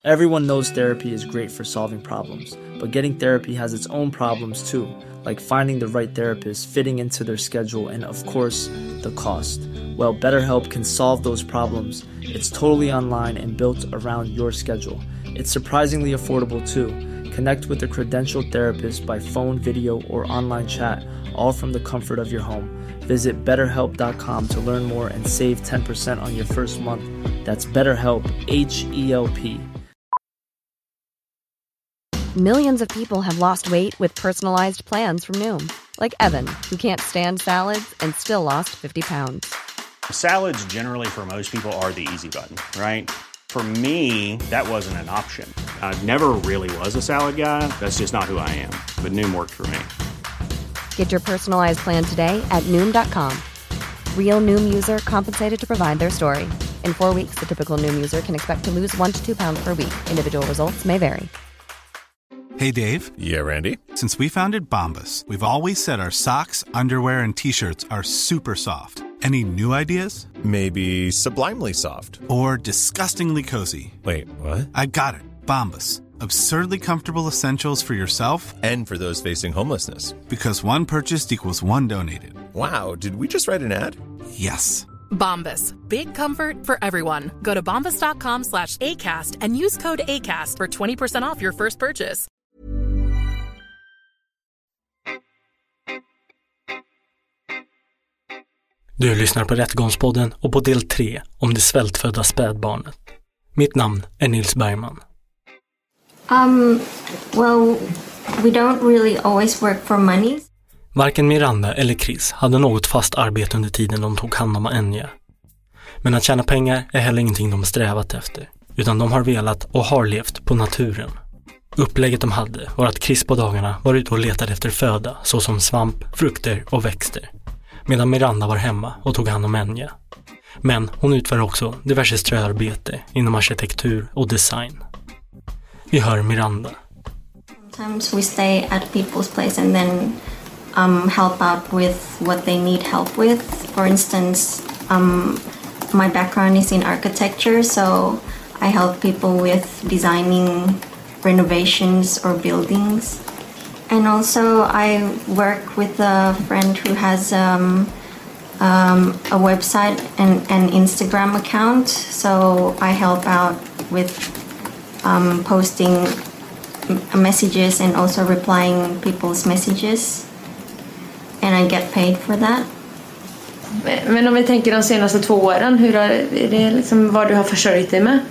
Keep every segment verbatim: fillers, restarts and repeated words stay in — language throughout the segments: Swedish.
Everyone knows therapy is great for solving problems, but getting therapy has its own problems too, like finding the right therapist, fitting into their schedule, and of course, the cost. Well, BetterHelp can solve those problems. It's totally online and built around your schedule. It's surprisingly affordable too. Connect with a credentialed therapist by phone, video, or online chat, all from the comfort of your home. Visit better help dot com to learn more and save ten percent on your first month. That's BetterHelp, H E L P. Millions of people have lost weight with personalized plans from Noom. Like Evan, who can't stand salads and still lost fifty pounds. Salads generally for most people are the easy button, right? For me, that wasn't an option. I never really was a salad guy. That's just not who I am. But Noom worked for me. Get your personalized plan today at Noom dot com. Real Noom user compensated to provide their story. In four weeks, the typical Noom user can expect to lose one to two pounds per week. Individual results may vary. Hey, Dave. Yeah, Randy. Since we founded Bombas, we've always said our socks, underwear, and T-shirts are super soft. Any new ideas? Maybe sublimely soft. Or disgustingly cozy. Wait, what? I got it. Bombas. Absurdly comfortable essentials for yourself and for those facing homelessness. Because one purchased equals one donated. Wow, did we just write an ad? Yes. Bombas. Big comfort for everyone. Go to bombas dot com slash ACAST and use code ACAST for twenty percent off your first purchase. Du lyssnar på Rättegångspodden och på del tre om det svältfödda spädbarnet. Mitt namn är Nils Bergman. Um, well, we don't really always work for money. Varken Miranda eller Chris hade något fast arbete under tiden de tog hand om Enya. Men att tjäna pengar är heller ingenting de strävat efter, utan de har velat och har levt på naturen. Upplägget de hade var att Chris på dagarna var ute och letade efter föda såsom svamp, frukter och växter, medan Miranda var hemma och tog hand om Enya. Men hon utför också diverse ströarbete inom arkitektur och design. Vi hör Miranda. Sometimes we stay at people's place and then um, help out with what they need help with. For instance, um, my background is in architecture, so I help people with designing renovations or buildings. And also I work with a friend who has um, um, a website and an Instagram account, so I help out with um, posting messages and also replying people's messages, and I get paid for that. Men om vi tänker de senaste två åren, hur har, är det liksom vad du har försörjt dig med?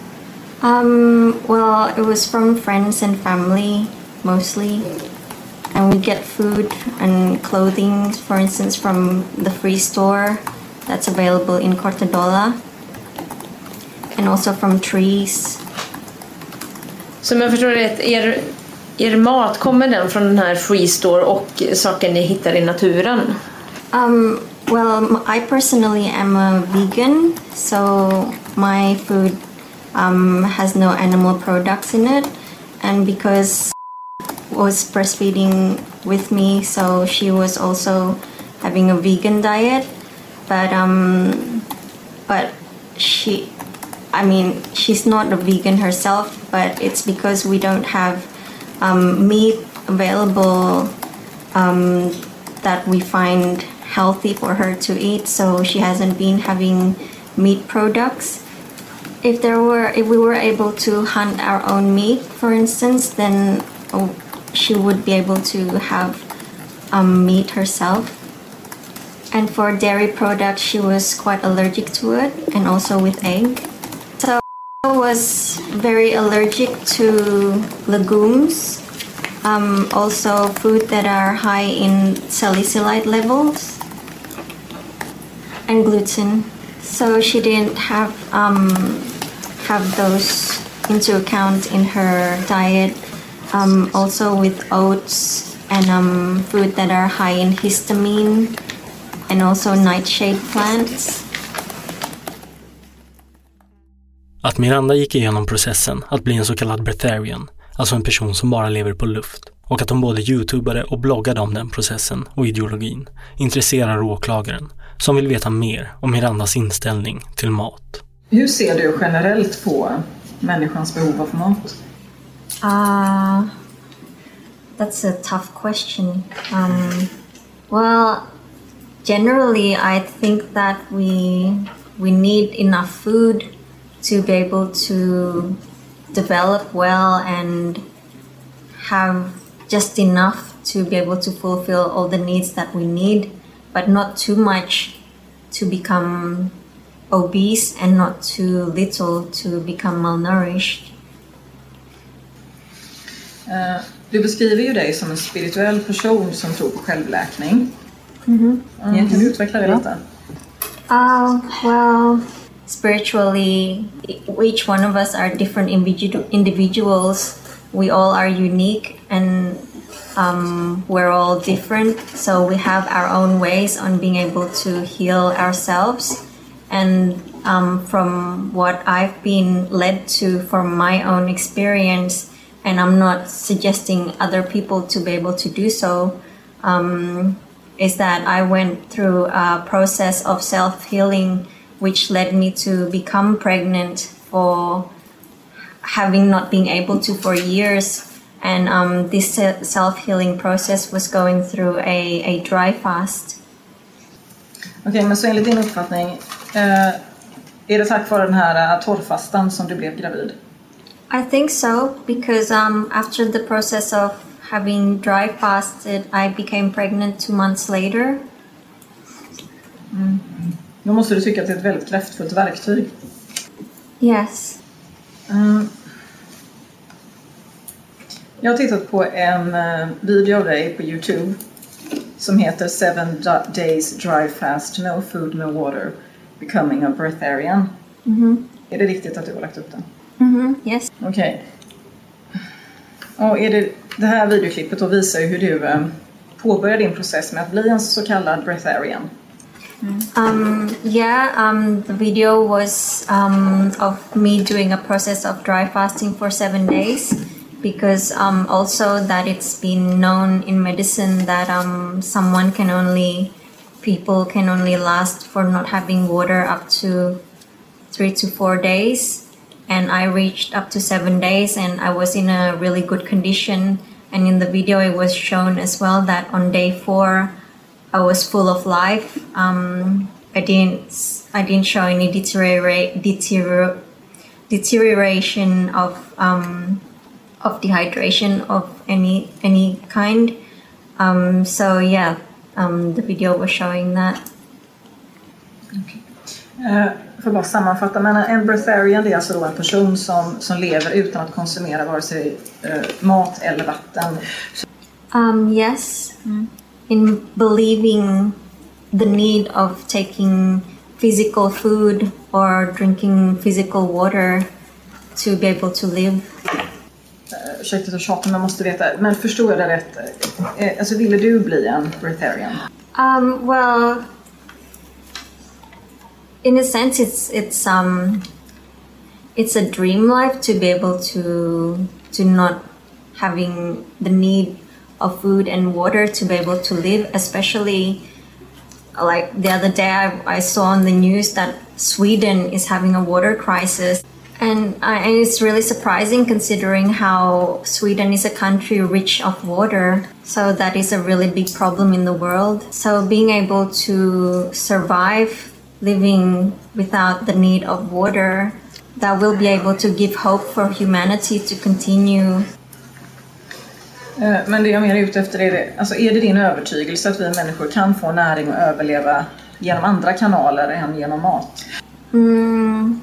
Um, well, it was from friends and family mostly, and we get food and clothing, for instance, from the free store that's available in Cortadola, and also from trees. Så jag förstår det, er, er mat, kommer den från den här free store och saker ni hittar i naturen? Um, well, I personally am a vegan, so my food um, has no animal products in it, and because was breastfeeding with me, so she was also having a vegan diet, but um, but she, I mean, she's not a vegan herself, but it's because we don't have um, meat available um, that we find healthy for her to eat, so she hasn't been having meat products. If there were, if we were able to hunt our own meat, for instance, then oh, she would be able to have um, meat herself. And for dairy products, she was quite allergic to it, and also with egg. So I was very allergic to legumes, um, also food that are high in salicylate levels, and gluten. So she didn't have um, have those into account in her diet. Um, also with oats and um, food that are high in histamine, and also nightshade plants. Att Miranda gick igenom processen att bli en så kallad breatharian, alltså en person som bara lever på luft, och att hon både youtubade och bloggade om den processen och ideologin, intresserar åklagaren som vill veta mer om Mirandas inställning till mat. Hur ser du generellt på människans behov av mat? Uh, that's a tough question. Um, well, generally, I think that we we need enough food to be able to develop well and have just enough to be able to fulfill all the needs that we need, but not too much to become obese and not too little to become malnourished. Uh, du beskriver ju dig som en spirituell person som tror på självläkning. Mm-hmm. Mm. Kan du utveckla det lite? Uh, well, spiritually, each one of us are different individu- individuals. We all are unique and um, we're all different. So we have our own ways on being able to heal ourselves. And um, from what I've been led to from my own experience, and I'm not suggesting other people to be able to do so, um, is that I went through a process of self-healing which led me to become pregnant for having not been able to for years. And um, this self-healing process was going through a, a dry fast. Okej, okay, men så enligt din uppfattning, eh, är det tack vare den här torrfastan som du blev gravid? I think so, because um, after the process of having dry fasted, I became pregnant two months later. Mm. Då måste du tycka att det är ett väldigt kraftfullt verktyg. Yes. Mm. Jag har tittat på en uh, video av dig på YouTube som heter Seven Days Dry Fast, No Food, No Water, Becoming a Breatharian. Mm-hmm. Är det riktigt att du har lagt upp den? Mm-hmm. Yes. Okej. Okay. Och är det, det här videoklippet då visar ju hur du um, påbörjade din process med att bli en så kallad breatharian. Mm. Um, yeah, um, the video was um, of me doing a process of dry fasting for seven days. Because um, also that it's been known in medicine that um, someone can only, people can only last for not having water up to three to four days. And I reached up to seven days and I was in a really good condition. And in the video it was shown as well that on day four I was full of life. Um, I didn't, I didn't show any deteriorate, deterior, deterioration of um, of dehydration of any any kind. Um, so yeah, um, the video was showing that. Okay. Uh, för att bara sammanfatta, men en breatharian det är alltså då en person som, som lever utan att konsumera vare sig uh, mat eller vatten. Um, yes, mm. In believing the need of taking physical food or drinking physical water to be able to live. Ursäkta att tjata, men man måste veta, men förstår jag det rätt? Alltså, ville du bli en breatharian? Um, well, in a sense, it's it's um, it's a dream life to be able to to not having the need of food and water to be able to live. Especially, like the other day, I, I saw on the news that Sweden is having a water crisis. And, uh, and it's really surprising considering how Sweden is a country rich of water. So that is a really big problem in the world. So being able to survive living without the need of water, that will be able to give hope for humanity to continue. Men det jag mer är ute efter är det, alltså är det din övertygelse att vi människor kan få näring och överleva genom andra kanaler än genom mat? Mm.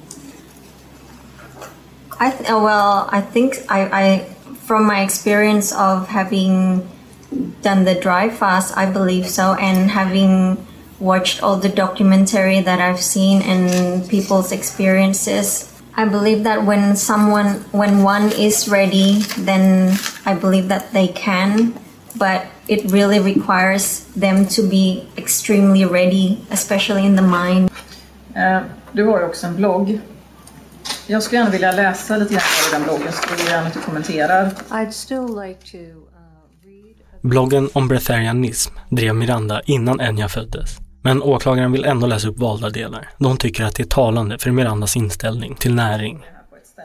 I th- well, I think I, I, from my experience of having done the dry fast, I believe so, and having watched all the documentary that I've seen and people's experiences, I believe that when someone, when one is ready, then I believe that they can, but it really requires them to be extremely ready, especially in the mind. Uh, du har ju också en blogg. Jag skulle gärna vilja läsa lite grann av den bloggen, så vill jag gärna att du kommenterar. I'd still like to, uh, read... Bloggen om breatharianism drev Miranda innan Enya föddes. Men åklagaren vill ändå läsa upp valda delar, då hon tycker att det är talande för Mirandas inställning till näring. På ett ställe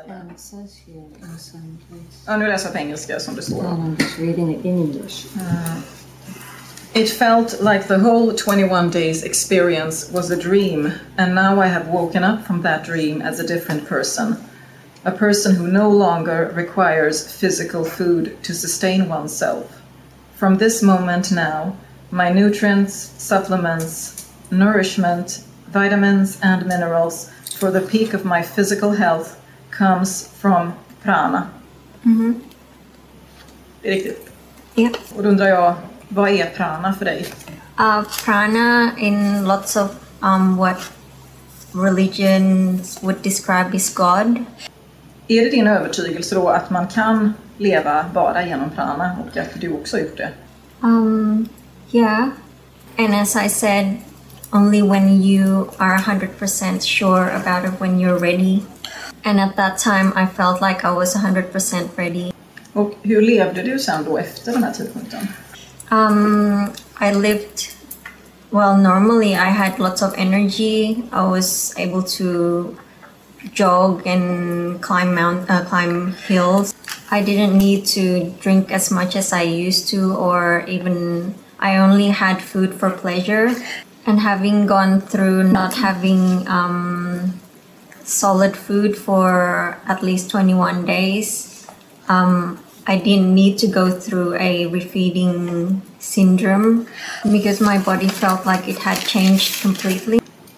eller? It says here in some place. Ja, nu läser jag på engelska som det står. And I'm just reading it in English. Uh, It felt like the whole twenty-one days experience was a dream, and now I have woken up from that dream as a different person. A person who no longer requires physical food to sustain oneself. From this moment now, my nutrients, supplements, nourishment, vitamins and minerals for the peak of my physical health comes from prana. Mm-hmm. Det är riktigt. Yep. Och då undrar jag, vad är prana för dig? Uh, prana in lots of um, what religions would describe as God. Är det din övertygelse då att man kan leva bara genom prana och att du också har gjort det? Um, yeah. And as I said, only when you are one hundred percent sure about it when you're ready. And at that time I felt like I was one hundred percent ready. Och hur levde du sen då efter den här tidpunkten? Um, I lived, well, normally I had lots of energy. I was able to jog and climb mount, uh, climb hills. I didn't need to drink as much as I used to, or even I only had food for pleasure. And having gone through not having um, solid food for at least twenty-one days, um, I didn't need to go through a refeeding syndrome because my body felt like it had changed completely.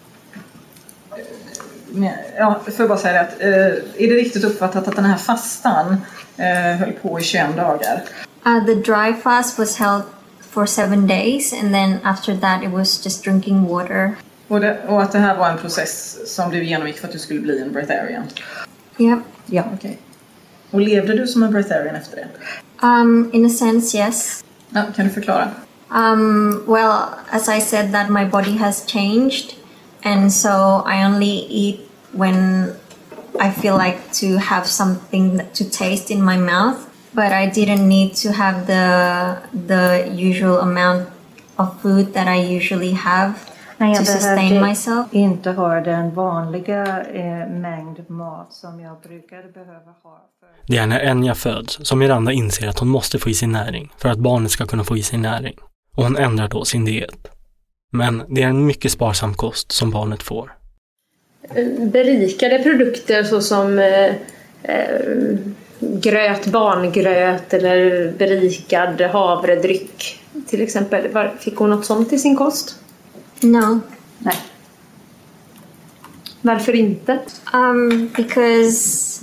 Ja, får jag bara säga att eh, är det riktigt uppfattat att den här fastan eh, höll på i tjugoett dagar? Uh, the dry fast was held for seven days and then after that it was just drinking water. Och, det, och att det här var en process som du genomgick för att du skulle bli en breatharian? Yep. Ja, okej. Okay. Och levde du som en breatharian efter det? Um, in a sense, yes. Ja, kan du förklara? Um, well, as I said that my body has changed and so I only eat when I feel like to have something to taste in my mouth. But I didn't need to have the the usual amount of food that I usually have Nej, to sustain myself. Inte ha den vanliga eh, mängd mat som jag brukade behöva ha. För... Det är när Enya föds som Miranda inser att hon måste få i sig näring för att barnet ska kunna få i sig näring. Och hon ändrar då sin diet. Men det är en mycket sparsam kost som barnet får. Berikade produkter såsom eh, eh, gröt, barngröt eller berikad havredryck till exempel. Var, fick hon något sånt i sin kost? No. Nej. Varför inte? Um, because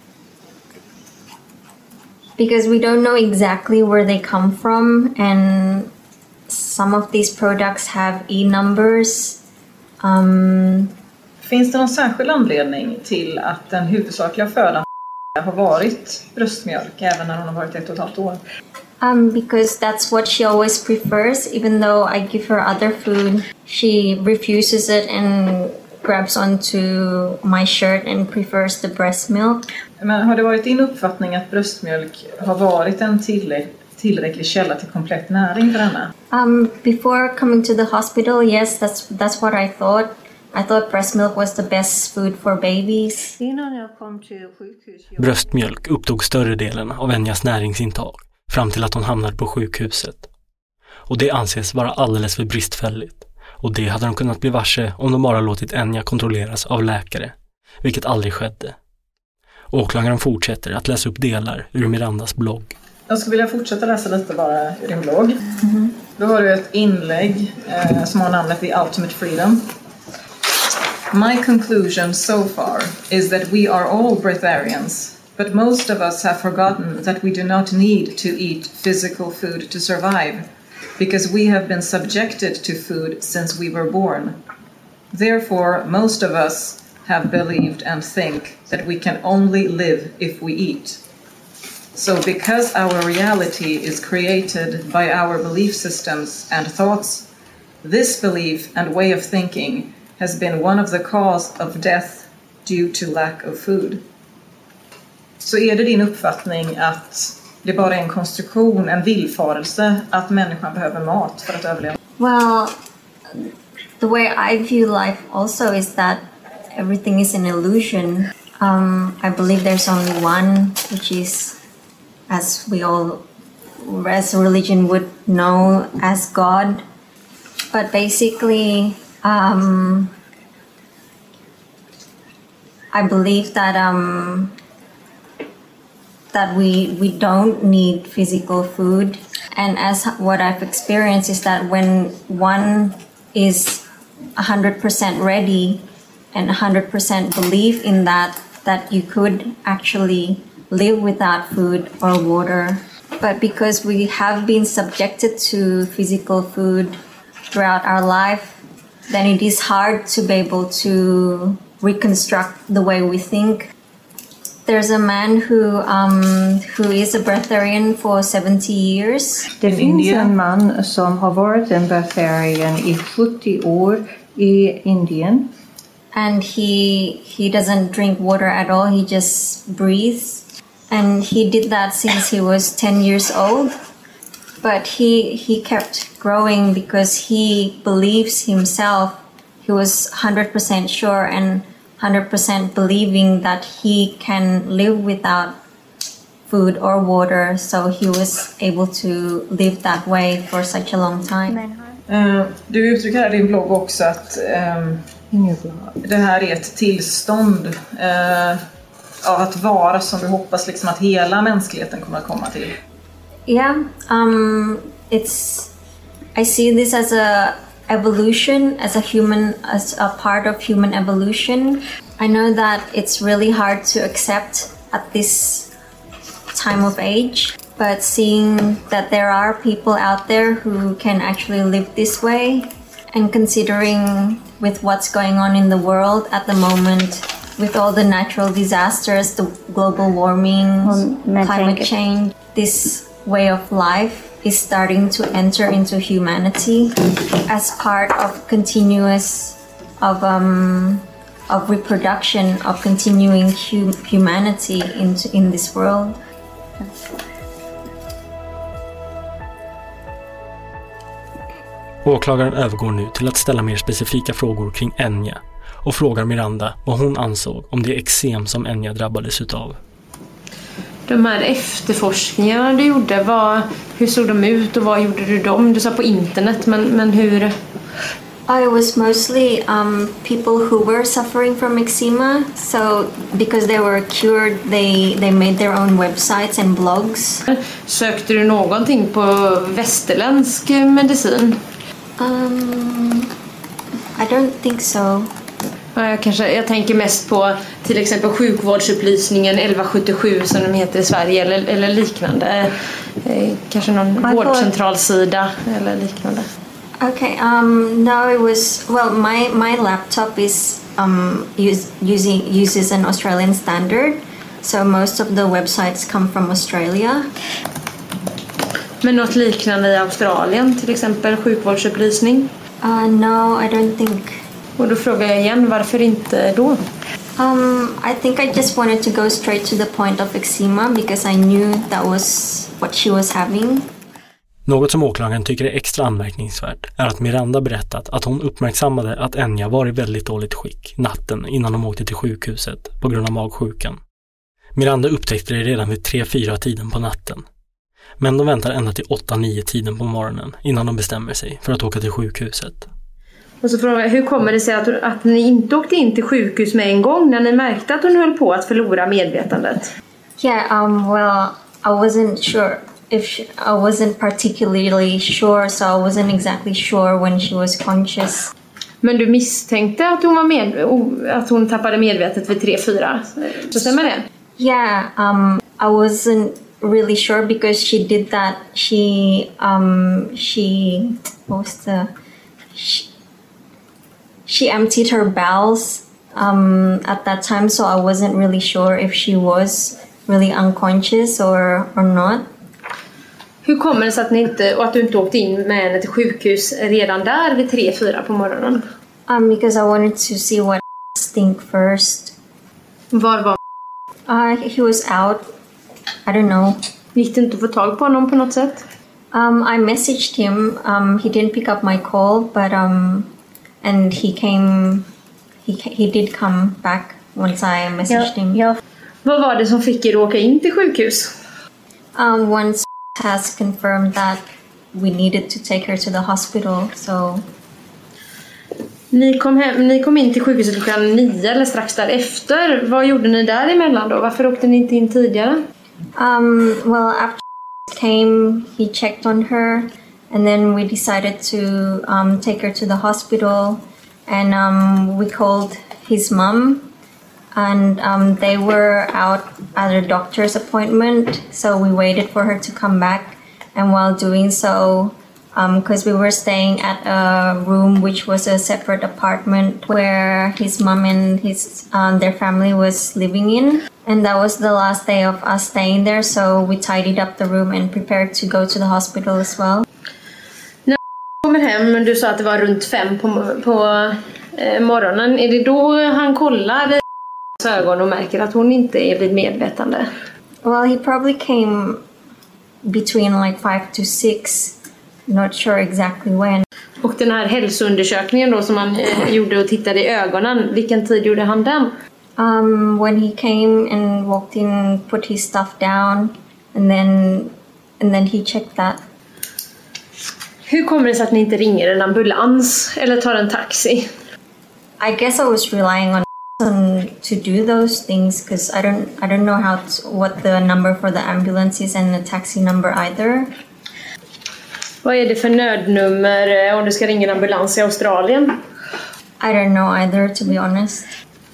because we don't know exactly where they come from and some of these products have E numbers. Um, Finns det någon särskild anledning till att den huvudsakliga födan har varit bröstmjölk även när hon har varit ett och ett halvt år? Um, because that's what she always prefers. Even though I give her other food, she refuses it and grabs onto my shirt and prefers the breast milk. Men har det varit din uppfattning att bröstmjölk har varit en tillräck- tillräcklig källa till komplett näring för henne? Um, before coming to the hospital, yes, that's that's what I thought. I thought breast milk was the best food for babies. Innan jag kom till sjukhus... Jag... Bröstmjölk upptog större delen av Enyas näringsintag fram till att hon hamnade på sjukhuset. Och det anses vara alldeles för bristfälligt. Och det hade de kunnat bli varse om de bara låtit Enya kontrolleras av läkare, vilket aldrig skedde. Åklagaren fortsätter att läsa upp delar ur Mirandas blogg. Jag skulle vilja fortsätta läsa lite bara ur din blogg. Mm-hmm. Då har du ett inlägg eh, som har namnet The Ultimate Freedom. My conclusion so far is that we are all breatharians, but most of us have forgotten that we do not need to eat physical food to survive, because we have been subjected to food since we were born. Therefore, most of us have believed and think that we can only live if we eat. So because our reality is created by our belief systems and thoughts, this belief and way of thinking has been one of the cause of death due to lack of food. Så är det din uppfattning att det bara är en konstruktion, en villfarelse att människan behöver mat för att överleva? Well, the way I view life also is that everything is an illusion. Um, I believe there's only one, which is, as we all, as religion would know, as God. But basically, um, I believe that um, that we we don't need physical food. And as what I've experienced is that when one is one hundred percent ready and one hundred percent believe in that, that you could actually live without food or water. But because we have been subjected to physical food throughout our life, then it is hard to be able to reconstruct the way we think. There's a man who um, who is a breatharian for seventy years. Det finns en man som har varit en breatharian i sjuttio år i Indien. And he he doesn't drink water at all. He just breathes. And he did that since he was ten years old. But he he kept growing because he believes himself. He was one hundred percent sure and one hundred percent believing that he can live without food or water. So he was able to live that way for such a long time. Uh, du uttrycker här i din blogg också att um, det här är ett tillstånd uh, av att vara som du hoppas liksom att hela mänskligheten kommer att komma till. Yeah, um, it's. I see this as a evolution, as a human, as a part of human evolution. I know that it's really hard to accept at this time of age, but seeing that there are people out there who can actually live this way, and considering with what's going on in the world at the moment, with all the natural disasters, the global warming, well, climate change, this way of life is starting to enter into humanity as part of continuous of um of reproduction, of continuing hum- humanity into in this world. Åklagaren övergår nu till att ställa mer specifika frågor kring Enya och frågar Miranda vad hon ansåg om det eksem som Enya drabbades utav. De här efterforskningarna du gjorde, vad, hur såg de ut och vad gjorde du dem? Du sa på internet, men, men hur? I was mostly um, people who were suffering from eczema. So because they were cured, they, they made their own websites and blogs. Sökte du någonting på västerländsk medicin? Um, I don't think so. Jag, kanske, jag tänker mest på till exempel sjukvårdsupplysningen elva sjuttiosju som de heter i Sverige eller, eller liknande. Eh, kanske någon vårdcentralsida eller liknande. Okay, um, no, it was, well, my, my laptop is um, use, using, uses an Australian standard, so most of the websites come from Australia. Men något liknande i Australien, till exempel sjukvårdsupplysning? Uh, no, I don't think. Och då frågar jag igen, varför inte då? Um, I think I just wanted to go straight to the point of eczema because I knew that was what she was having. Något som åklagaren tycker är extra anmärkningsvärt är att Miranda berättat att hon uppmärksammade att Enya var i väldigt dåligt skick natten innan de åkte till sjukhuset på grund av magsjukan. Miranda upptäckte det redan vid tre fyra tiden på natten. Men de väntar ända till åtta nio tiden på morgonen innan de bestämmer sig för att åka till sjukhuset. Och så frågar jag, hur kommer det sig att, att ni inte åkte in till sjukhus med en gång när ni märkte att hon höll på att förlora medvetandet? Yeah, um, well, I wasn't sure if she, I wasn't particularly sure, so I wasn't exactly sure when she was conscious. Men du misstänkte att hon var med, att hon tappade medvetet vid tre fyra, så stämmer det? Yeah, um, I wasn't really sure because she did that. She, um, she, what was the, she, she emptied her bowels um, at that time, so I wasn't really sure if she was really unconscious or, or not. Hur kommer det sig att, ni inte, och att du inte åkte in med henne till sjukhus redan där vid tre fyra på morgonen? Um, because I wanted to see what stink first. Var var uh, he was out. I don't know. Gick det inte att få tag på honom på något sätt? Um, I messaged him. Um, he didn't pick up my call, but um, and he came. He he did come back once I messaged Ja, him. ja. Vad var det som fick er att åka in till sjukhus? Um, once has confirmed that we needed to take her to the hospital, so... Ni kom, hem, ni kom in till sjukhuset klockan nio eller strax därefter. Vad gjorde ni däremellan då? Varför åkte ni inte in tidigare? Um, well, after came, he checked on her, and then we decided to um, take her to the hospital, and um, we called his mom, and um, they were out at a doctor's appointment, so we waited for her to come back, and while doing so, because um, we were staying at a room which was a separate apartment where his mom and his um, their family was living in, and that was the last day of us staying there, so we tidied up the room and prepared to go to the hospital as well. När du kommer hem, du sa att det var runt fem på, på eh, morgonen, är det då han kollar i ögon och märker att hon inte är vid medvetande? Well, he probably came between like five to six. Not sure exactly when. Och den här hälsoundersökningen då som han eh, gjorde och tittade i ögonen, vilken tid gjorde han den? Um, when he came and walked in, put his stuff down, and then and then he checked that. Hur kommer det sig att ni inte ringer en ambulans eller tar en taxi? I guess I was relying on to do those things because I don't I don't know how to, what the number for the ambulance is and the taxi number either. Vad är det för nödnummer om du ska ringa en ambulans i Australien? I don't know either, to be honest.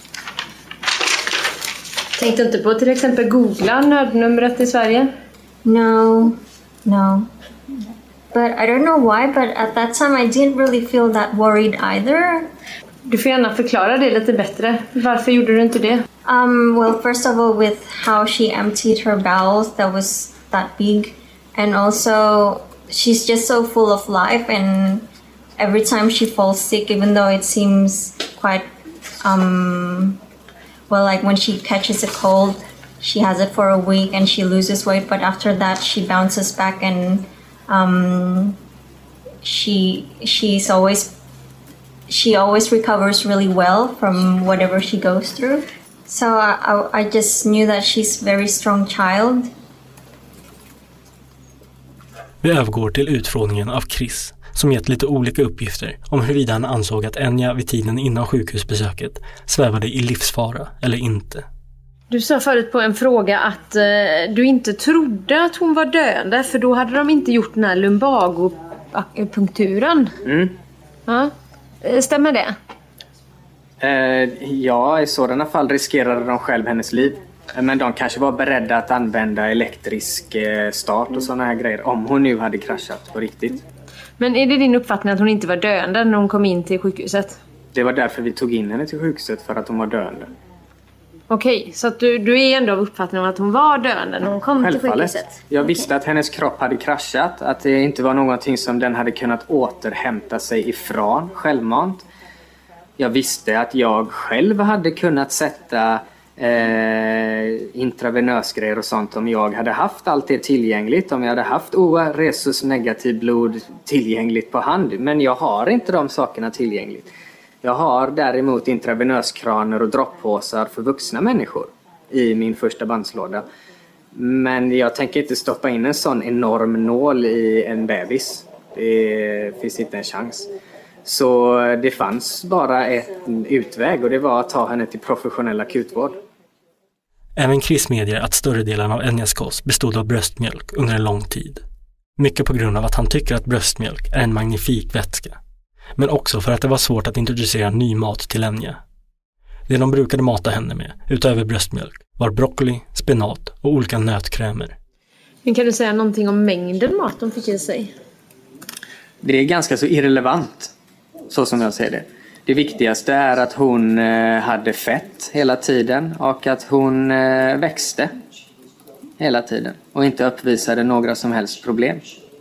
Tänkte inte på till exempel googla nödnumret i Sverige? No, no. But I don't know why, but at that time I didn't really feel that worried either. Du får gärna förklara det lite bättre. Varför gjorde du inte det? Um, well, first of all, with how she emptied her bowels, that was that big. And also, she's just so full of life, and every time she falls sick, even though it seems quite, um, well, like when she catches a cold, she has it for a week and she loses weight, but after that she bounces back and um, she she's always she always recovers really well from whatever she goes through. So I, I just knew that she's a very strong child. Vi övergår till utfrågningen av Chris, som gett lite olika uppgifter om huruvida han ansåg att Enya vid tiden innan sjukhusbesöket svävade i livsfara eller inte. Du sa förut på en fråga att eh, du inte trodde att hon var döende, för då hade de inte gjort den här lumbagopunkturen. Mm. Ja. Stämmer det? Eh, ja, i sådana fall riskerade de själv hennes liv. Men de kanske var beredda att använda elektrisk start och såna här grejer om hon nu hade kraschat på riktigt. Men är det din uppfattning att hon inte var döende när hon kom in till sjukhuset? Det var därför vi tog in henne till sjukhuset, för att hon var döende. Okej, så att du, du är ändå av uppfattningen att hon var döende när hon kom till sjukhuset? Jag visste att hennes kropp hade kraschat, att det inte var någonting som den hade kunnat återhämta sig ifrån självmant. Jag visste att jag själv hade kunnat sätta Eh, intravenösgrejer och sånt om jag hade haft allt det tillgängligt, om jag hade haft O A resus negativ blod tillgängligt på hand, men jag har inte de sakerna tillgängligt. Jag har däremot intravenöskraner och droppåsar för vuxna människor i min första bandslåda, men jag tänker inte stoppa in en sån enorm nål i en bebis. Det finns inte en chans. Så det fanns bara ett utväg, och det var att ta henne till professionell akutvård. Även Chris medger att större delen av Enyas kost bestod av bröstmjölk under en lång tid. Mycket på grund av att han tycker att bröstmjölk är en magnifik vätska. Men också för att det var svårt att introducera ny mat till Enya. Det de brukade mata henne med, utöver bröstmjölk, var broccoli, spenat och olika nötkrämer. Men kan du säga någonting om mängden mat de fick i sig? Det är ganska så irrelevant, så som jag ser det. Det viktigaste är att hon hade fett hela tiden och att hon växte hela tiden och inte uppvisade några som helst problem.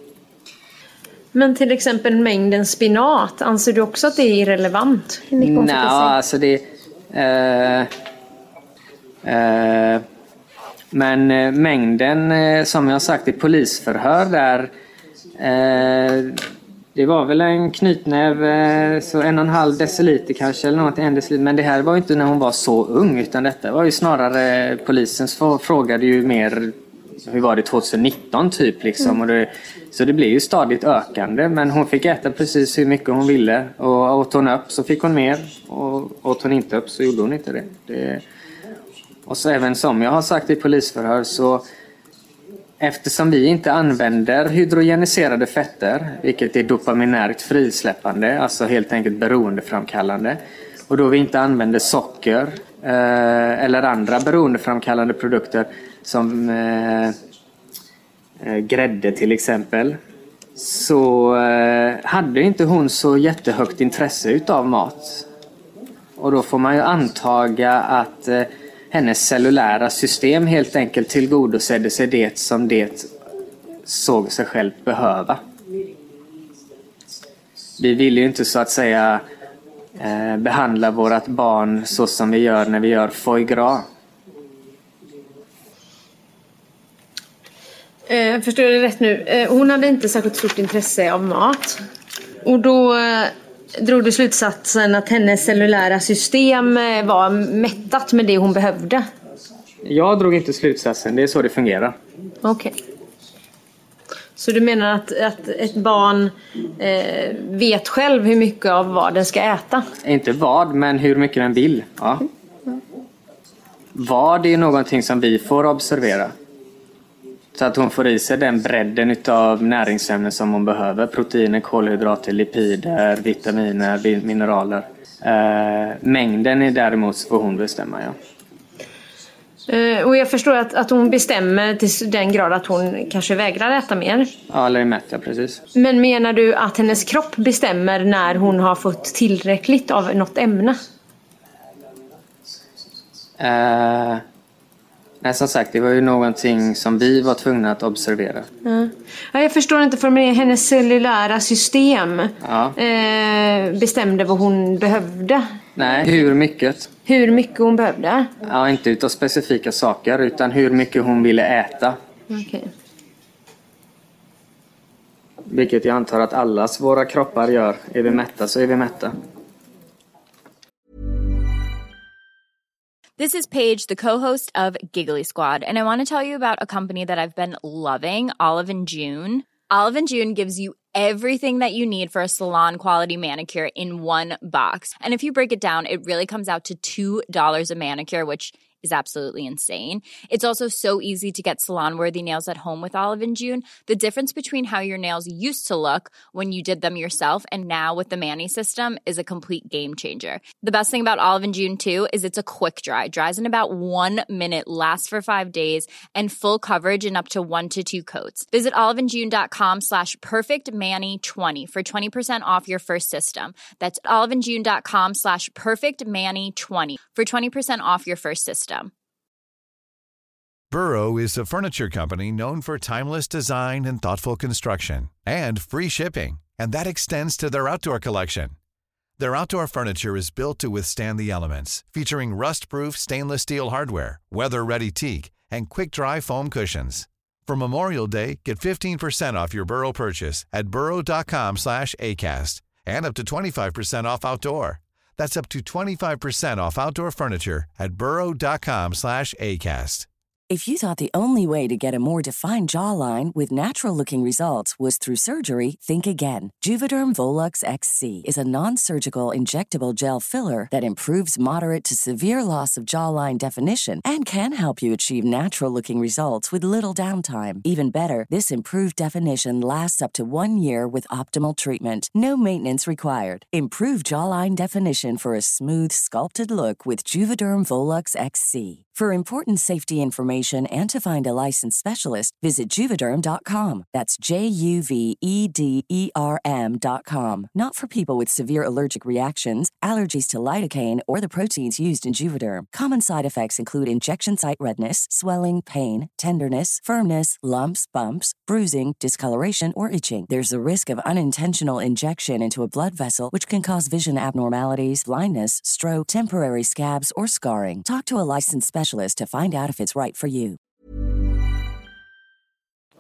Men till exempel mängden spinat, anser du också att det är irrelevant? Hur mycket hon fick i sig? Nej, alltså det... Eh, eh, men mängden, som jag sagt i polisförhör där... Eh, Det var väl en knytnäv, så en och en halv deciliter kanske, eller något, en deciliter. Men det här var ju inte när hon var så ung, utan detta var ju snarare, polisen frågade ju mer, hur var det tjugonitton typ liksom. Mm. Och det, så det blev ju stadigt ökande, men hon fick äta precis hur mycket hon ville. Och åt hon upp så fick hon mer, och åt hon inte upp så gjorde hon inte det. det och så även som jag har sagt i polisförhör, så eftersom vi inte använder hydrogeniserade fetter, vilket är dopaminärt frisläppande, alltså helt enkelt beroendeframkallande, och då vi inte använder socker eh, eller andra beroendeframkallande produkter som eh, eh, grädde till exempel, så eh, hade inte hon så jättehögt intresse utav mat. Och då får man ju antaga att eh, hennes cellulära system helt enkelt tillgodosedde sig det som det såg sig själv behöva. Vi vill ju inte så att säga eh, behandla vårat barn så som vi gör när vi gör foie gras. Eh, förstår jag det rätt nu? Eh, hon hade inte särskilt stort intresse av mat. Och då eh, drog du slutsatsen att hennes cellulära system eh, var mättat med det hon behövde. Jag drog inte slutsatsen, det är så det fungerar. Okej. Okay. Så du menar att, att ett barn eh, vet själv hur mycket av vad den ska äta? Inte vad, men hur mycket den vill. Ja. Mm. Vad är någonting som vi får observera. Så att hon får i sig den bredden av näringsämnen som hon behöver. Proteiner, kolhydrater, lipider, vitaminer, mineraler. Eh, mängden är däremot får hon bestämma, ja. Uh, och jag förstår att, att hon bestämmer till den grad att hon kanske vägrar äta mer. Ja, eller är mätt, ja, precis. Men menar du att hennes kropp bestämmer när hon har fått tillräckligt av något ämne? Uh, nej, som sagt, det var ju någonting som vi var tvungna att observera. Uh. Ja, jag förstår inte, för med hennes cellulära system ja. uh, bestämde vad hon behövde. Nej, hur mycket? Hur mycket hon behövde? Ja, inte utav specifika saker, utan hur mycket hon ville äta. Okej. Okay. Vilket jag antar att allas våra kroppar gör. Är vi mätta så är vi mätta. This is Paige, the co-host of Giggly Squad, and I want to tell you about a company that I've been loving, Olive and June. Olive and June gives you everything that you need for a salon-quality manicure in one box. And if you break it down, it really comes out to two dollars a manicure, which is absolutely insane. It's also so easy to get salon-worthy nails at home with Olive and June. The difference between how your nails used to look when you did them yourself and now with the Mani system is a complete game changer. The best thing about Olive and June, too, is it's a quick dry. Dries in about one minute, lasts for five days, and full coverage in up to one to two coats. Visit oliveandjune.com slash perfectmani20 for twenty percent off your first system. That's oliveandjune.com slash perfectmani20 for twenty percent off your first system. Burrow is a furniture company known for timeless design and thoughtful construction, and free shipping, and that extends to their outdoor collection. Their outdoor furniture is built to withstand the elements, featuring rust-proof stainless steel hardware, weather-ready teak, and quick-dry foam cushions. For Memorial Day, get fifteen percent off your Burrow purchase at burrow.com slash ACAST and up to twenty-five percent off outdoor. That's up to twenty-five percent off outdoor furniture at burrow.com slash ACAST. If you thought the only way to get a more defined jawline with natural-looking results was through surgery, think again. Juvederm Volux X C is a non-surgical injectable gel filler that improves moderate to severe loss of jawline definition and can help you achieve natural-looking results with little downtime. Even better, this improved definition lasts up to one year with optimal treatment. No maintenance required. Improve jawline definition for a smooth, sculpted look with Juvederm Volux X C. For important safety information and to find a licensed specialist, visit Juvederm dot com. That's J U V E D E R M dot com. Not for people with severe allergic reactions, allergies to lidocaine, or the proteins used in Juvederm. Common side effects include injection site redness, swelling, pain, tenderness, firmness, lumps, bumps, bruising, discoloration, or itching. There's a risk of unintentional injection into a blood vessel, which can cause vision abnormalities, blindness, stroke, temporary scabs, or scarring. Talk to a licensed specialist to find out if it's right for you.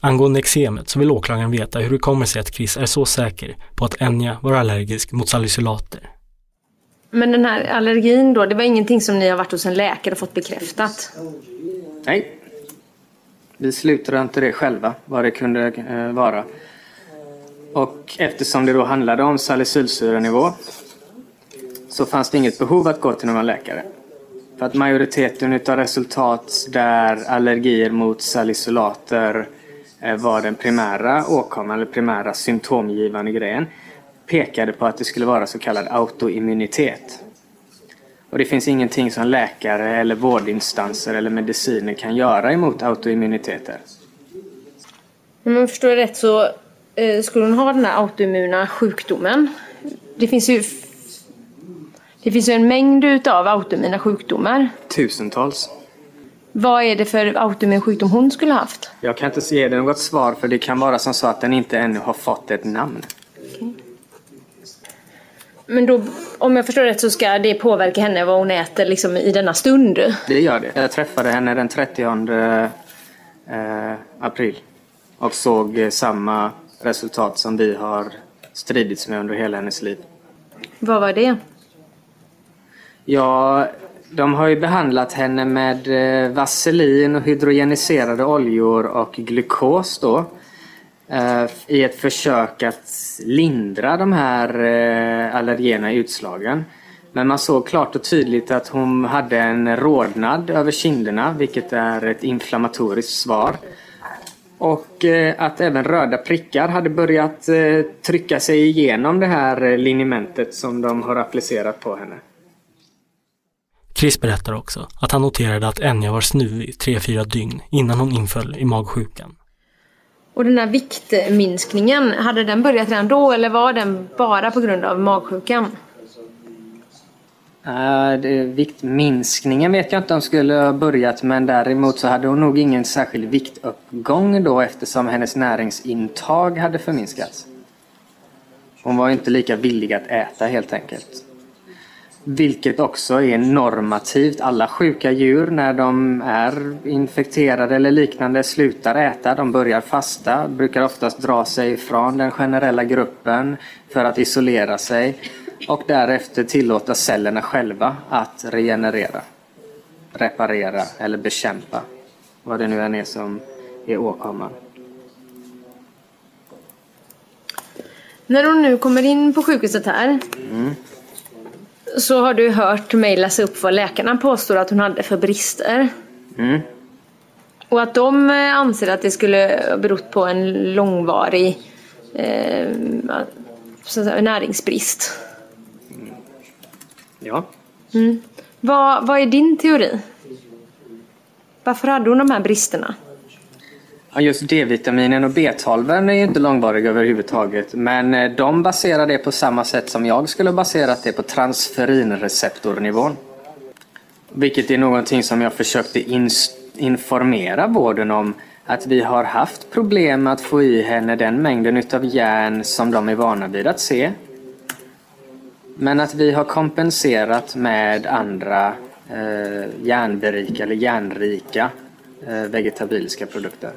Angående eksemet så vill åklagaren veta hur det kommer sig att Chris är så säker på att Enya var allergisk mot salicylater. Men den här allergin då, det var ingenting som ni har varit hos en läkare och fått bekräftat? Nej. Vi slutade inte det själva, vad det kunde eh, vara. Och eftersom det då handlade om salicylsyrenivå så fanns det inget behov att gå till någon läkare. För att majoriteten av resultat där allergier mot salicylater eh, var den primära åkomman eller primära symptomgivande grejen pekade på att det skulle vara så kallad autoimmunitet. Och det finns ingenting som läkare eller vårdinstanser eller mediciner kan göra emot autoimmuniteter. Om jag förstår rätt så eh, skulle hon ha den här autoimmuna sjukdomen. Det finns ju, det finns ju en mängd utav autoimmuna sjukdomar. Tusentals. Vad är det för autoimmun sjukdom hon skulle ha haft? Jag kan inte ge dig något svar för det kan vara som så att den inte ännu har fått ett namn. Okay. Men då, om jag förstår rätt så ska det påverka henne vad hon äter liksom i denna stund? Det gör det. Jag träffade henne den trettionde eh, april och såg eh, samma resultat som vi har stridits med under hela hennes liv. Vad var det? Ja, de har ju behandlat henne med eh, vaselin och hydrogeniserade oljor och glukos då. I ett försök att lindra de här allergena utslagen. Men man såg klart och tydligt att hon hade en rodnad över kinderna, vilket är ett inflammatoriskt svar. Och att även röda prickar hade börjat trycka sig igenom det här linimentet som de har applicerat på henne. Chris berättar också att han noterade att Enya var snuvig tre fyra dygn innan hon inföll i magsjukan. Och den här viktminskningen, hade den börjat redan då eller var den bara på grund av magsjukan? Uh, det, viktminskningen vet jag inte om skulle ha börjat, men däremot så hade hon nog ingen särskild viktuppgång då eftersom hennes näringsintag hade förminskats. Hon var inte lika villig att äta helt enkelt. Vilket också är normativt. Alla sjuka djur när de är infekterade eller liknande slutar äta. De börjar fasta, brukar oftast dra sig från den generella gruppen för att isolera sig. Och därefter tillåta cellerna själva att regenerera, reparera eller bekämpa. Vad det nu än är som är åkomman. När hon nu kommer in på sjukhuset här... Mm. Så har du hört mig läsa upp vad läkarna påstår att hon hade för brister. Mm. Och att de anser att det skulle ha berott på en långvarig eh, så att säga, näringsbrist. Mm. Ja. Mm. Vad, vad är din teori? Varför hade hon de här bristerna? Ja, just D-vitaminen och B tolv är ju inte långvariga överhuvudtaget. Men de baserar det på samma sätt som jag skulle baserat det på transferinreceptornivån. Vilket är någonting som jag försökte in- informera vården om. Att vi har haft problem att få i henne den mängden utav järn som de är vana vid att se. Men att vi har kompenserat med andra eh, järnberika eller järnrika eh, vegetabiliska produkter.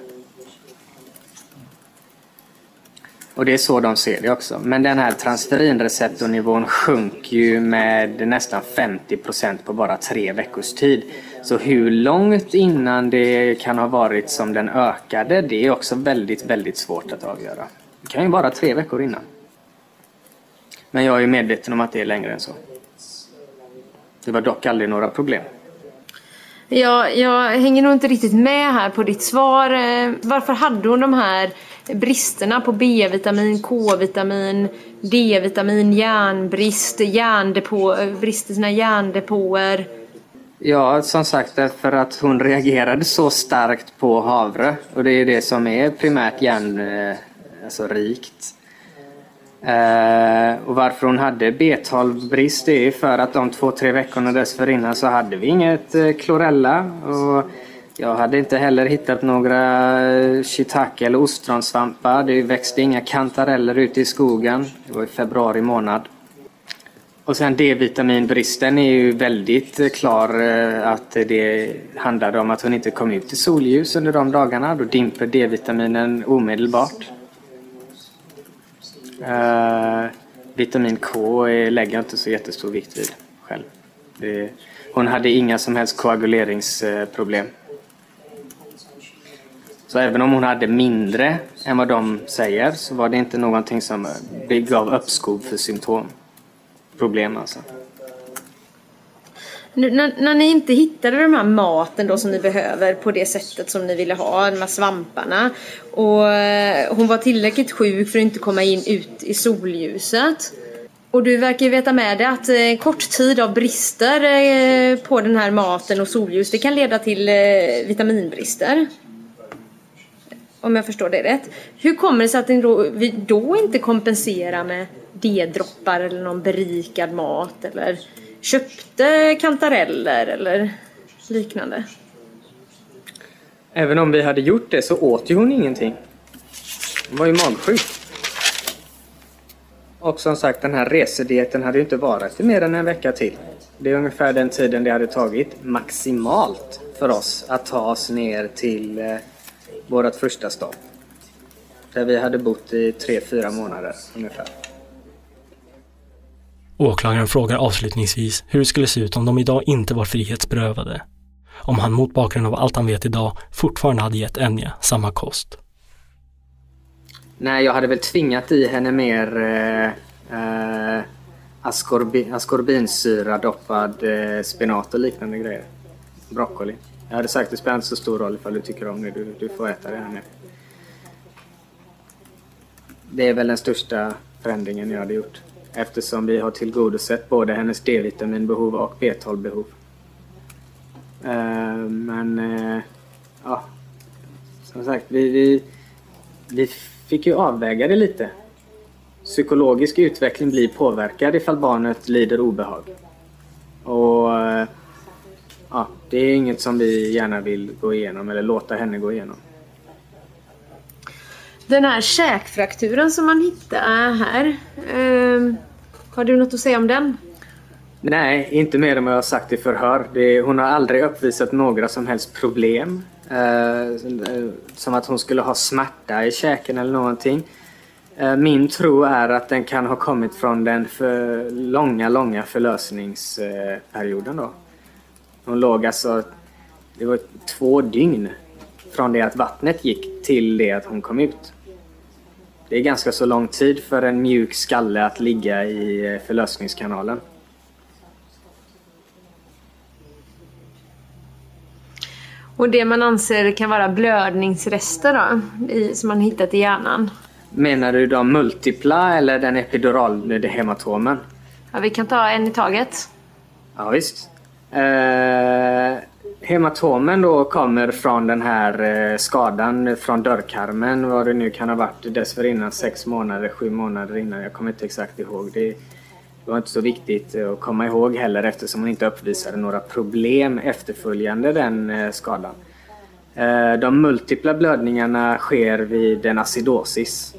Och det är så de ser det också. Men den här transferinreceptornivån sjunker ju med nästan femtio procent på bara tre veckors tid. Så hur långt innan det kan ha varit som den ökade, det är också väldigt, väldigt svårt att avgöra. Det kan ju vara tre veckor innan. Men jag är medveten om att det är längre än så. Det var dock aldrig några problem. Ja, jag hänger nog inte riktigt med här på ditt svar. Varför hade hon de här bristerna på B-vitamin, K-vitamin, D-vitamin, järnbrist, järndepå, brist i sina järndepåer? Ja, som sagt, för att hon reagerade så starkt på havre. Och det är det som är primärt järn, alltså rikt. Uh, och varför hon hade B tolv-brist är för att de två, tre veckorna dessförinnan så hade vi inget uh, klorella. Och jag hade inte heller hittat några shiitake eller ostronsvampar. Det växte inga kantareller ute i skogen. Det var i februari månad. Och sen D-vitaminbristen är ju väldigt klar att det handlade om att hon inte kom ut i solljus under de dagarna. Då dimper D-vitaminen omedelbart. Uh, vitamin K lägger inte så jättestor vikt vid själv. Det, hon hade inga som helst koaguleringsproblem. Så även om hon hade mindre än vad de säger så var det inte någonting som gav uppskov för symptom. Problem alltså. Nu, när, när ni inte hittade de här maten då som ni behöver på det sättet som ni ville ha, de här svamparna, och eh, hon var tillräckligt sjuk för att inte komma in ut i solljuset, och du verkar ju veta med det att eh, kort tid av brister eh, på den här maten och solljus, det kan leda till eh, vitaminbrister, om jag förstår det rätt. Hur kommer det sig att ni då, vi då inte kompenserar med D-droppar eller någon berikad mat eller köpte kantareller eller liknande? Även om vi hade gjort det så åt ju hon ingenting. Hon var ju magsjuk. Och som sagt, den här resedieten hade ju inte varit mer än en vecka till. Det är ungefär den tiden det hade tagit maximalt för oss att ta oss ner till eh, vårt första stopp. Där vi hade bott i tre, fyra månader ungefär. Åklagaren frågar avslutningsvis hur det skulle se ut om de idag inte var frihetsberövade. Om han mot bakgrund av allt han vet idag fortfarande hade gett Enya samma kost. Nej, jag hade väl tvingat i henne mer eh, eh, ascorbi, ascorbinsyra doppad eh, spenat och liknande grejer. Broccoli. Jag hade sagt att det spelar inte så stor roll ifall du tycker om det. Du, du får äta det här nu. Det är väl den största förändringen jag hade gjort. Eftersom vi har tillgodosett både hennes D-vitaminbehov och B tolv-behov. Uh, men uh, ja, som sagt, vi, vi, vi fick ju avväga det lite. Psykologisk utveckling blir påverkad ifall barnet lider obehag. Och uh, ja, det är inget som vi gärna vill gå igenom eller låta henne gå igenom. Den här käkfrakturen som man hittar här, eh, har du något att säga om den? Nej, inte mer än vad jag har sagt i förhör. Det, hon har aldrig uppvisat några som helst problem. Eh, som att hon skulle ha smärta i käken eller någonting. Eh, min tro är att den kan ha kommit från den för långa, långa förlösningsperioden då. Hon låg alltså, det var två dygn från det att vattnet gick till det att hon kom ut. Det är ganska så lång tid för en mjuk skalle att ligga i förlösningskanalen. Och det man anser kan vara blödningsrester då, i, som man hittat i hjärnan? Menar du de multipla eller den epidurala hematomen? Ja, vi kan ta en i taget. Ja, visst. Eh, hematomen då kommer från den här eh, skadan från dörrkarmen. Vad det nu kan ha varit dessförinnan, sex månader, sju månader innan. Jag kommer inte exakt ihåg. Det var inte så viktigt att komma ihåg heller eftersom hon inte uppvisade några problem efterföljande den eh, skadan. Eh, de multipla blödningarna sker vid en acidosis.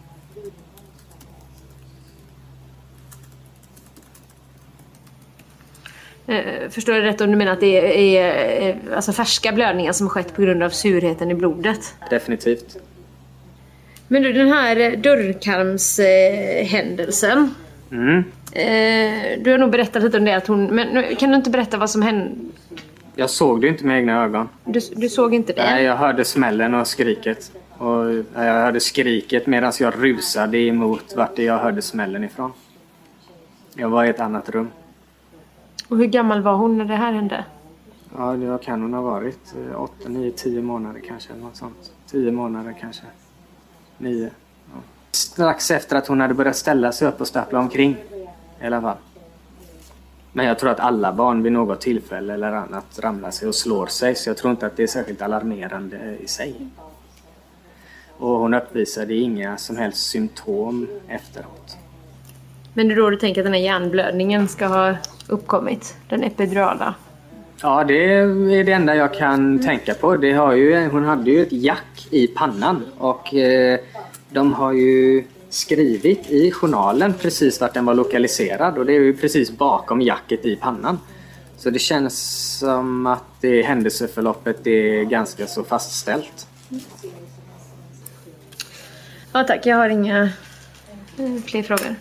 Förstår jag rätt om du menar att det är alltså färska blödningar som har skett på grund av surheten i blodet? Definitivt. Men du, den här dörrkarmshändelsen. Mm. Du har nog berättat lite om det. Att hon, men kan du inte berätta vad som hände? Jag såg det inte med egna ögon. Du, du såg inte det? Nej, jag hörde smällen och skriket. Och jag hörde skriket medan jag rusade emot vart jag hörde smällen ifrån. Jag var i ett annat rum. Och hur gammal var hon när det här hände? Ja, det kan hon ha varit. åtta, nio, tio månader kanske. Något sånt. tio månader kanske. nio. Ja. Strax efter att hon hade börjat ställa sig upp och stappla omkring. I alla fall. Men jag tror att alla barn vid något tillfälle eller annat ramlar sig och slår sig. Så jag tror inte att det är särskilt alarmerande i sig. Och hon uppvisade inga som helst symptom efteråt. Men det är då du tänker att den här hjärnblödningen ska ha uppkommit? Den epidurala? Ja, det är det enda jag kan tänka på. Det har ju, hon hade ju ett jack i pannan. Och eh, de har ju skrivit i journalen precis vart den var lokaliserad, och det är ju precis bakom jacket i pannan. Så det känns som att det händelseförloppet är ganska så fastställt. Ja tack, jag har inga fler frågor.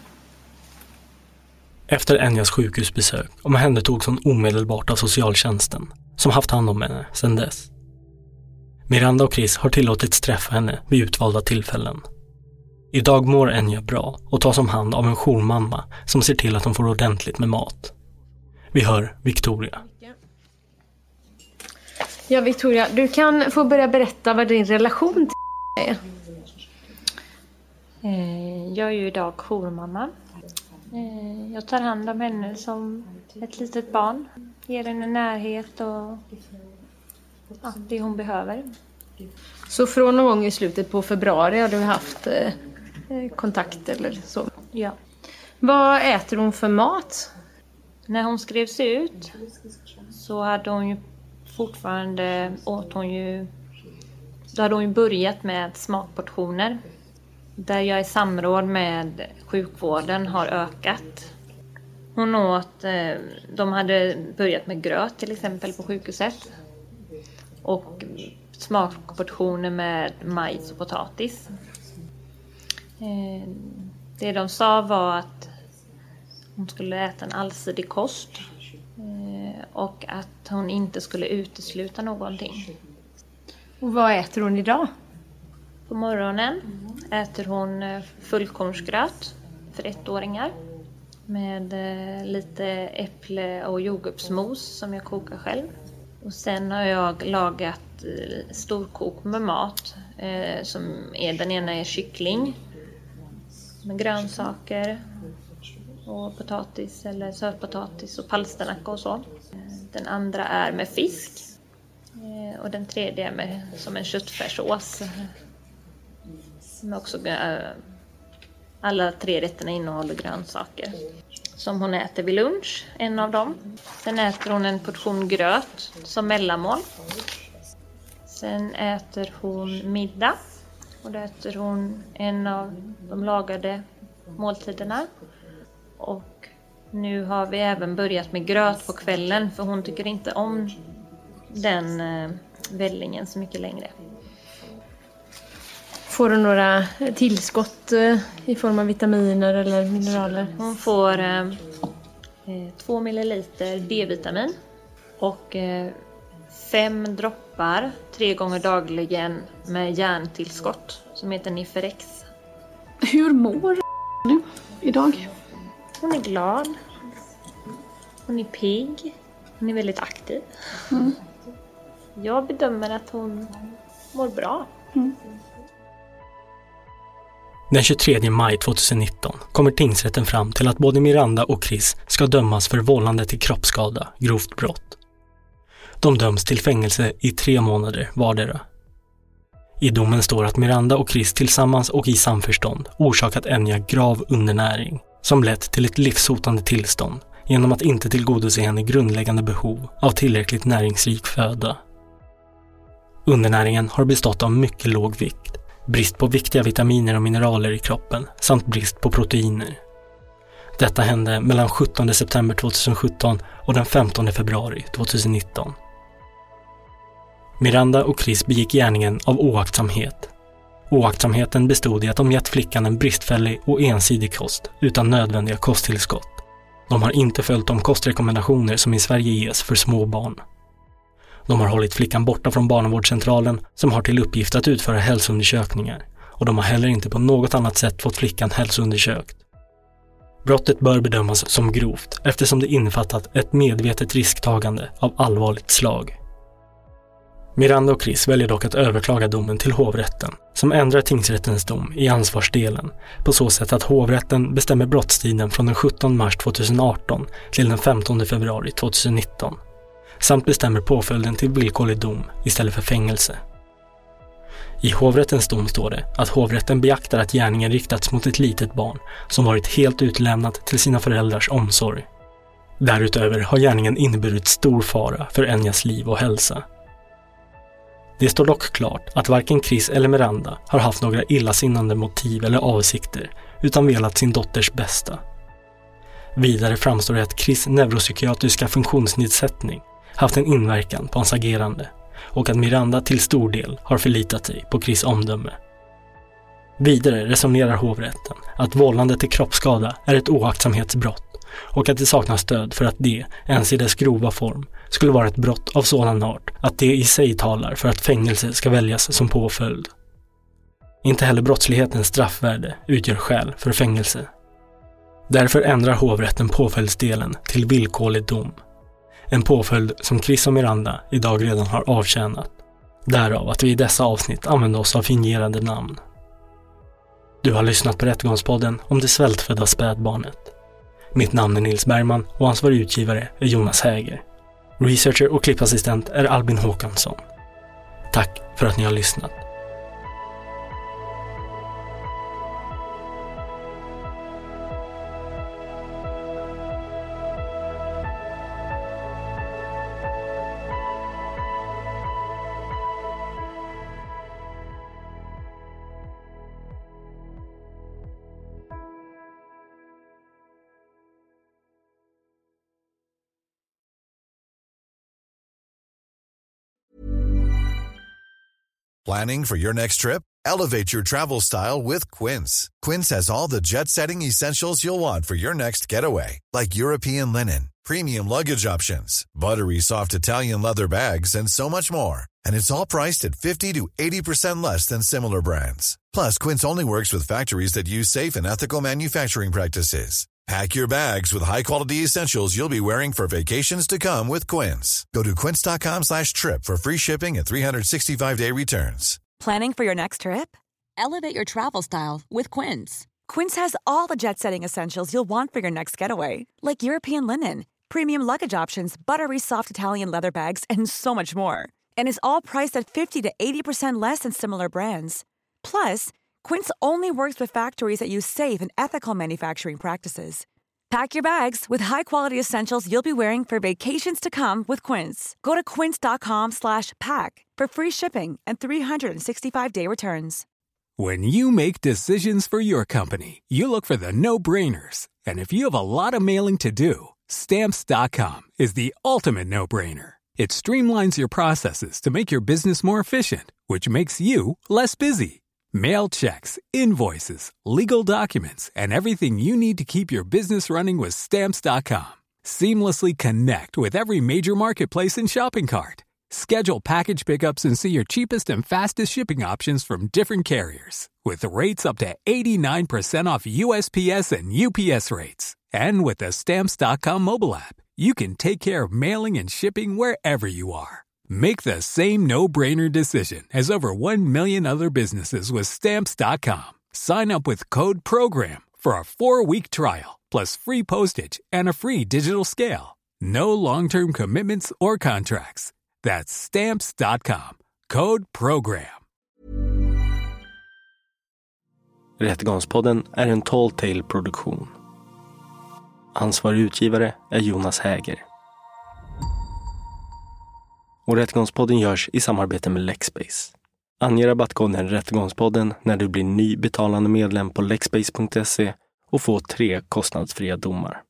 Efter Enjas sjukhusbesök omhändertogs hon omedelbart av socialtjänsten, som haft hand om henne sedan dess. Miranda och Chris har tillåtits träffa henne vid utvalda tillfällen. Idag mår Enja bra och tas om hand av en jourmamma som ser till att hon får ordentligt med mat. Vi hör Victoria. Ja, Victoria, du kan få börja berätta vad din relation till är. Jag är ju idag jourmamma. Jag tar hand om henne som ett litet barn. Ger henne närhet och ja, det hon behöver. Så från någon gång i slutet på februari har du haft eh, kontakt eller så? Ja. Vad äter hon för mat? När hon skrevs ut så hade hon ju fortfarande åt hon ju då hade hon ju börjat med smakportioner. Där jag i samråd med sjukvården har ökat. Hon åt, eh, de hade börjat med gröt till exempel på sjukhuset. Och smakportioner med majs och potatis. Eh, det de sa var att hon skulle äta en allsidig kost. Eh, och att hon inte skulle utesluta någonting. Och vad äter hon idag? På morgonen äter hon fullkornsgröt för ettåringar. Med lite äpple- och jordgubbsmos som jag kokar själv. Och sen har jag lagat storkok med mat. Eh, som är, den ena är kyckling. Med grönsaker. Och potatis eller sötpotatis och palsternacka och så. Den andra är med fisk. Eh, och den tredje är med, som en köttfärssås. Som också, äh, alla tre rätterna innehåller grönsaker. Som hon äter vid lunch, en av dem. Sen äter hon en portion gröt som mellanmål. Sen äter hon middag. Och då äter hon en av de lagade måltiderna. Och nu har vi även börjat med gröt på kvällen. För hon tycker inte om den äh, vällingen så mycket längre. Får hon några tillskott i form av vitaminer eller mineraler? Hon får eh, två milliliter D-vitamin och eh, fem droppar tre gånger dagligen med järntillskott som heter Niferex. Hur mår nu idag? Hon är glad. Hon är pigg. Hon är väldigt aktiv. Mm. Jag bedömer att hon mår bra. Mm. Den tjugotredje maj tjugonitton kommer tingsrätten fram till att både Miranda och Chris ska dömas för vållande till kroppsskada, grovt brott. De döms till fängelse i tre månader vardera. I domen står att Miranda och Chris tillsammans och i samförstånd orsakat Enja grav undernäring som lett till ett livshotande tillstånd genom att inte tillgodose henne grundläggande behov av tillräckligt näringsrik föda. Undernäringen har bestått av mycket låg vikt, brist på viktiga vitaminer och mineraler i kroppen samt brist på proteiner. Detta hände mellan sjuttonde september tjugosjutton och den femtonde februari tjugonitton. Miranda och Chris begick gärningen av oaktsamhet. Oaktsamheten bestod i att de gett flickan en bristfällig och ensidig kost utan nödvändiga kosttillskott. De har inte följt de kostrekommendationer som i Sverige ges för små barn. De har hållit flickan borta från barnavårdscentralen som har till uppgift att utföra hälsoundersökningar och de har heller inte på något annat sätt fått flickan hälsoundersökt. Brottet bör bedömas som grovt eftersom det innefattat ett medvetet risktagande av allvarligt slag. Miranda och Chris väljer dock att överklaga domen till hovrätten som ändrar tingsrättens dom i ansvarsdelen på så sätt att hovrätten bestämmer brottstiden från den sjuttonde mars tjugoarton till den femtonde februari tjugonitton samt bestämmer påföljden till villkorlig dom istället för fängelse. I hovrättens dom står det att hovrätten beaktar att gärningen riktats mot ett litet barn som varit helt utlämnat till sina föräldrars omsorg. Därutöver har gärningen inneburit stor fara för Enjas liv och hälsa. Det står dock klart att varken Chris eller Miranda har haft några illasinnande motiv eller avsikter utan velat sin dotters bästa. Vidare framstår det att Chris neuropsykiatriska funktionsnedsättning haft en inverkan på hans agerande och att Miranda till stor del har förlitat sig på Chris omdöme. Vidare resonerar hovrätten att vållande till kroppsskada är ett oaktsamhetsbrott och att det saknas stöd för att det, ens i dess grova form, skulle vara ett brott av sådan art att det i sig talar för att fängelse ska väljas som påföljd. Inte heller brottslighetens straffvärde utgör skäl för fängelse. Därför ändrar hovrätten påföljdsdelen till villkorlig dom. En påföljd som Chris och Miranda idag redan har avtjänat. Därav att vi i dessa avsnitt använder oss av fingerade namn. Du har lyssnat på Rättegångspodden om det svältfödda spädbarnet. Mitt namn är Nils Bergman och ansvarig utgivare är Jonas Häger. Researcher och klippassistent är Albin Håkansson. Tack för att ni har lyssnat. Planning for your next trip? Elevate your travel style with Quince. Quince has all the jet-setting essentials you'll want for your next getaway, like European linen, premium luggage options, buttery soft Italian leather bags, and so much more. And it's all priced at fifty to eighty percent less than similar brands. Plus, Quince only works with factories that use safe and ethical manufacturing practices. Pack your bags with high-quality essentials you'll be wearing for vacations to come with Quince. Go to quince.com slash trip for free shipping and three sixty-five day returns. Planning for your next trip? Elevate your travel style with Quince. Quince has all the jet-setting essentials you'll want for your next getaway, like European linen, premium luggage options, buttery soft Italian leather bags, and so much more. And is all priced at fifty to eighty percent less than similar brands. Plus, Quince only works with factories that use safe and ethical manufacturing practices. Pack your bags with high-quality essentials you'll be wearing for vacations to come with Quince. Go to quince.com slash pack for free shipping and three sixty-five day returns. When you make decisions for your company, you look for the no-brainers. And if you have a lot of mailing to do, Stamps dot com is the ultimate no-brainer. It streamlines your processes to make your business more efficient, which makes you less busy. Mail checks, invoices, legal documents, and everything you need to keep your business running with Stamps dot com. Seamlessly connect with every major marketplace and shopping cart. Schedule package pickups and see your cheapest and fastest shipping options from different carriers. With rates up to eighty-nine percent off U S P S and U P S rates. And with the Stamps dot com mobile app, you can take care of mailing and shipping wherever you are. Make the same no-brainer decision as over one million other businesses with Stamps dot com. Sign up with code PROGRAM for a four-week trial, plus free postage and a free digital scale. No long-term commitments or contracts. That's Stamps dot com. Code PROGRAM. Rättegångspodden är en Tall Tale-produktion. Ansvarig utgivare är Jonas Häger. Och Rättegångspodden görs i samarbete med Lexbase. Ange rabattkoden Rättegångspodden när du blir ny betalande medlem på lexbase punkt se och få tre kostnadsfria domar.